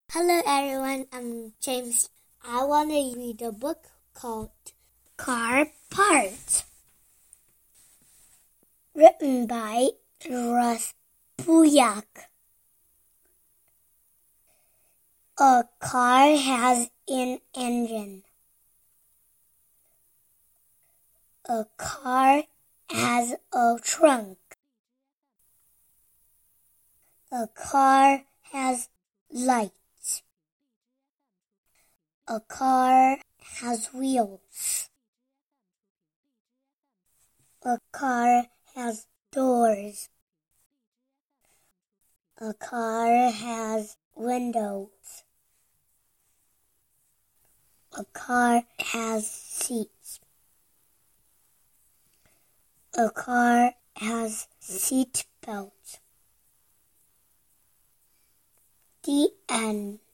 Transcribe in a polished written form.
Hello everyone, I'm James. I want to read a book called Car Parts, written by Russ Buyck. A car has an engine. A car has a trunk. A car has lights. A car has wheels. A car has doors. A car has windows. A car has seats. A car has seat belts. The end.